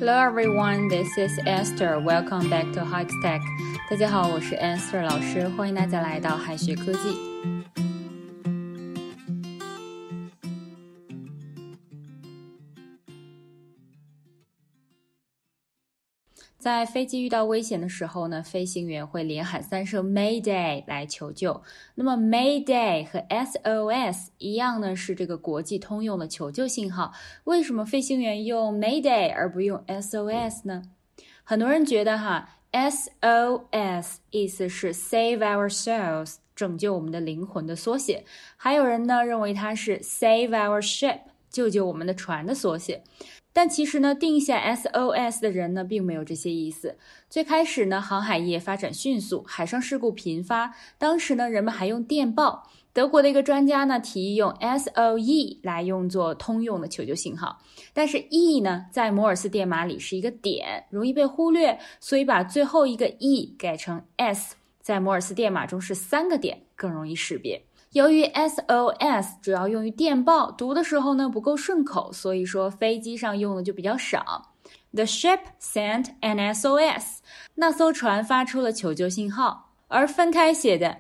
Hello everyone, this is Esther. Welcome back to Hikes Tech. 大家好，我是 Esther 老师，欢迎大家来到海学科技。在飞机遇到危险的时候呢，飞行员会连喊3声 Mayday 来求救。那么 Mayday 和 SOS 一样呢，是这个国际通用的求救信号。为什么飞行员用 Mayday 而不用 SOS 呢？很多人觉得SOS 意思是 Save Our Souls 拯救我们的灵魂的缩写，还有人呢认为它是 Save Our Ship 救救我们的船的缩写。但其实呢，定下 SOS 的人呢，并没有这些意思。最开始呢，航海业发展迅速，海上事故频发。当时呢，人们还用电报。德国的一个专家呢，提议用 SOE 来用作通用的求救信号。但是 E 呢，在摩尔斯电码里是一个点，容易被忽略，所以把最后一个 E 改成 S， 在摩尔斯电码中是3个点，更容易识别。由于 SOS 主要用于电报，读的时候呢不够顺口，所以说飞机上用的就比较少。The ship sent an SOS， 那艘船发出了求救信号。而分开写的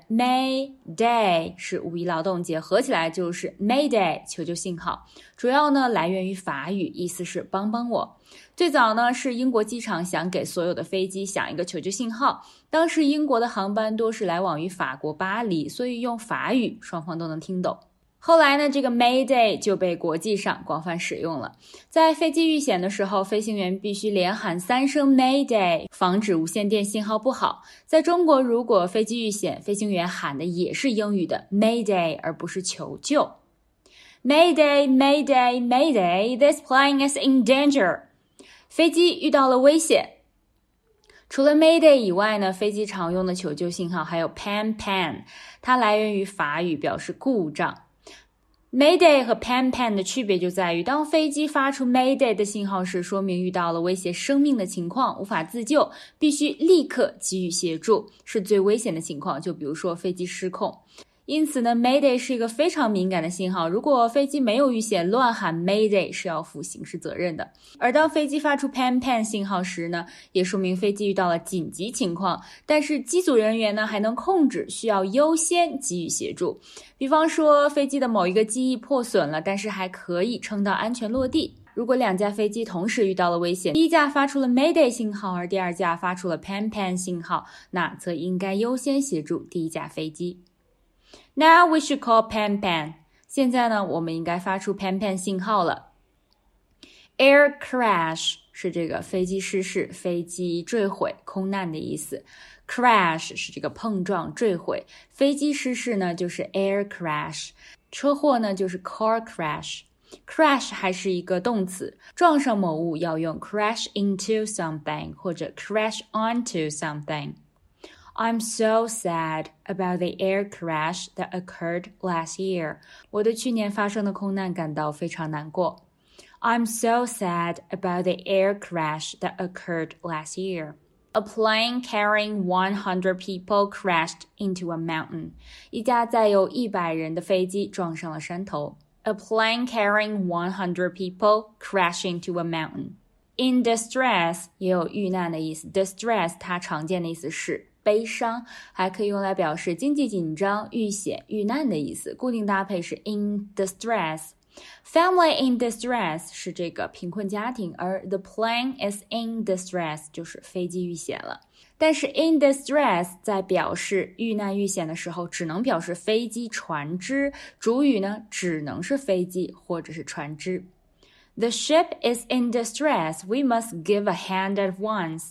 Mayday 是五一劳动节，合起来就是 Mayday 求救信号。主要呢来源于法语，意思是帮帮我。最早呢是英国机场想给所有的飞机响一个求救信号，当时英国的航班多是来往于法国巴黎，所以用法语双方都能听懂。后来呢，这个 Mayday 就被国际上广泛使用了。在飞机遇险的时候，飞行员必须连喊3声 Mayday， 防止无线电信号不好。在中国，如果飞机遇险，飞行员喊的也是英语的 Mayday， 而不是求救。Mayday, Mayday, Mayday, this plane is in danger. 飞机遇到了危险。除了 Mayday 以外呢，飞机常用的求救信号还有 Pan Pan， 它来源于法语，表示故障。Mayday 和 Pan Pan 的区别就在于，当飞机发出 Mayday 的信号时，说明遇到了威胁生命的情况，无法自救，必须立刻给予协助，是最危险的情况，就比如说飞机失控。因此呢 Mayday 是一个非常敏感的信号，如果飞机没有遇险，乱喊 Mayday 是要负刑事责任的。而当飞机发出 Pan Pan 信号时呢，也说明飞机遇到了紧急情况，但是机组人员呢还能控制，需要优先给予协助。比方说飞机的某一个机翼破损了，但是还可以撑到安全落地。如果2架飞机同时遇到了危险，第一架发出了 Mayday 信号，而第2架发出了 Pan Pan 信号，那则应该优先协助第一架飞机。Now we should call Pan Pan. 现在呢，我们应该发出 Pan Pan 信号了。Air crash 是这个飞机失事、飞机坠毁、空难的意思。Crash 是这个碰撞、坠毁。飞机失事呢，就是 air crash。车祸呢，就是 car crash。Crash 还是一个动词，撞上某物要用 crash into something 或者 crash onto something。I'm so sad about the air crash that occurred last year. 我对去年发生的空难感到非常难过。I'm so sad about the air crash that occurred last year. A plane carrying 100 people crashed into a mountain. 一架载有100人的飞机撞上了山头。A plane carrying 100 people crashed into a mountain.In distress 也有遇难的意思。Distress 它常见的意思是悲伤，还可以用来表示经济紧张、遇险、遇难的意思。固定搭配是 in distress。Family in distress 是这个贫困家庭，而 the plane is in distress 就是飞机遇险了。但是 in distress 在表示遇难遇险的时候，只能表示飞机、船只，主语呢只能是飞机或者是船只。The ship is in distress. We must give a hand at once.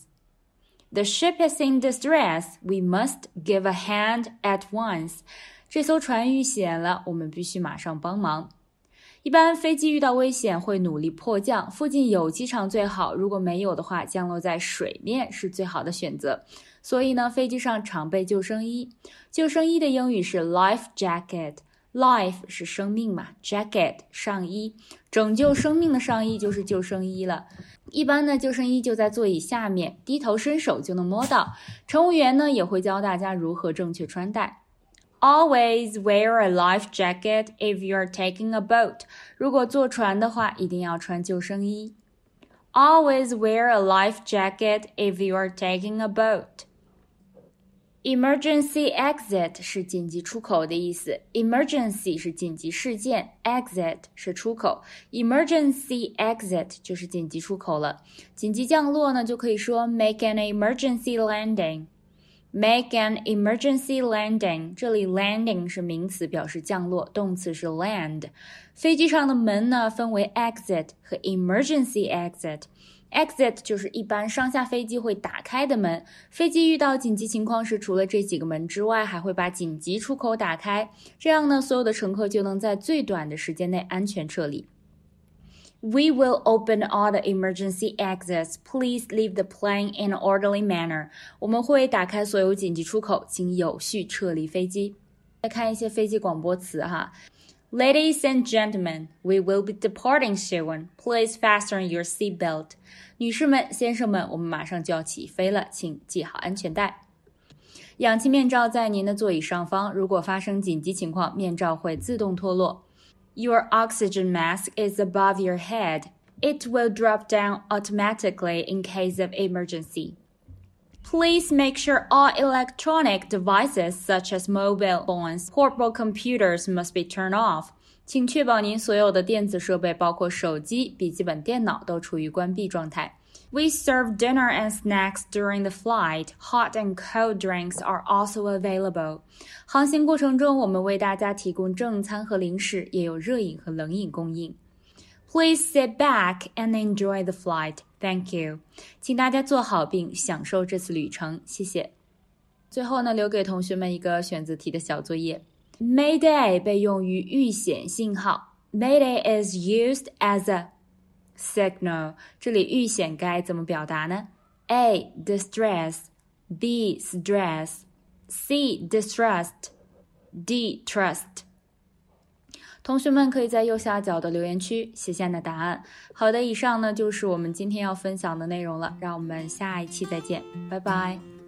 The ship is in distress. We must give a hand at once. 这艘船遇险了，我们必须马上帮忙。一般飞机遇到危险会努力迫降，附近有机场最好，如果没有的话，降落在水面是最好的选择。所以呢，飞机上常备救生衣。救生衣的英语是 life jacket。Life 是生命嘛 ，jacket 上衣，拯救生命的上衣就是救生衣了。一般呢，救生衣就在座椅下面，低头伸手就能摸到。乘务员呢也会教大家如何正确穿戴。Always wear a life jacket if you're taking a boat. 如果坐船的话，一定要穿救生衣。 Always wear a life jacket if you are taking a boat. Emergency exit 是紧急出口的意思 Emergency 是紧急事件 Exit 是出口 Emergency exit 就是紧急出口了紧急降落呢就可以说 Make an emergency landing Make an emergency landing 这里 landing 是名词表示降落动词是 land 飞机上的门呢分为 exit 和 emergency exit就是一般上下飞机会打开的门，飞机遇到紧急情况时，除了这几个门之外，还会把紧急出口打开，这样呢，所有的乘客就能在最短的时间内安全撤离。We will open all the emergency exits. Please leave the plane in an orderly manner. 我们会打开所有紧急出口，请有序撤离飞机。再看一些飞机广播词哈。Ladies and gentlemen, we will be departing soon. Please fasten your seatbelt. 女士们、先生们，我们马上就要起飞了，请系好安全带。氧气面罩在您的座椅上方，如果发生紧急情况，面罩会自动脱落。Your oxygen mask is above your head. It will drop down automatically in case of emergency. Please make sure all electronic devices such as mobile phones, portable computers must be turned off. 请确保您所有的电子设备，包括手机、笔记本电脑，都处于关闭状态。We serve dinner and snacks during the flight. Hot and cold drinks are also available. 航行过程中，我们为大家提供正餐和零食，也有热饮和冷饮供应。Please sit back and enjoy the flight. Thank you. 请大家坐好并享受这次旅程，谢谢。最后呢，留给同学们一个选择题的小作业。Mayday 被用于预显信号。Mayday is used as a signal. 这里预显该怎么表达呢？ A. Distress B. Stress C. Distrust D. Trust同学们可以在右下角的留言区写下你的答案。好的，以上呢就是我们今天要分享的内容了，让我们下一期再见，拜拜。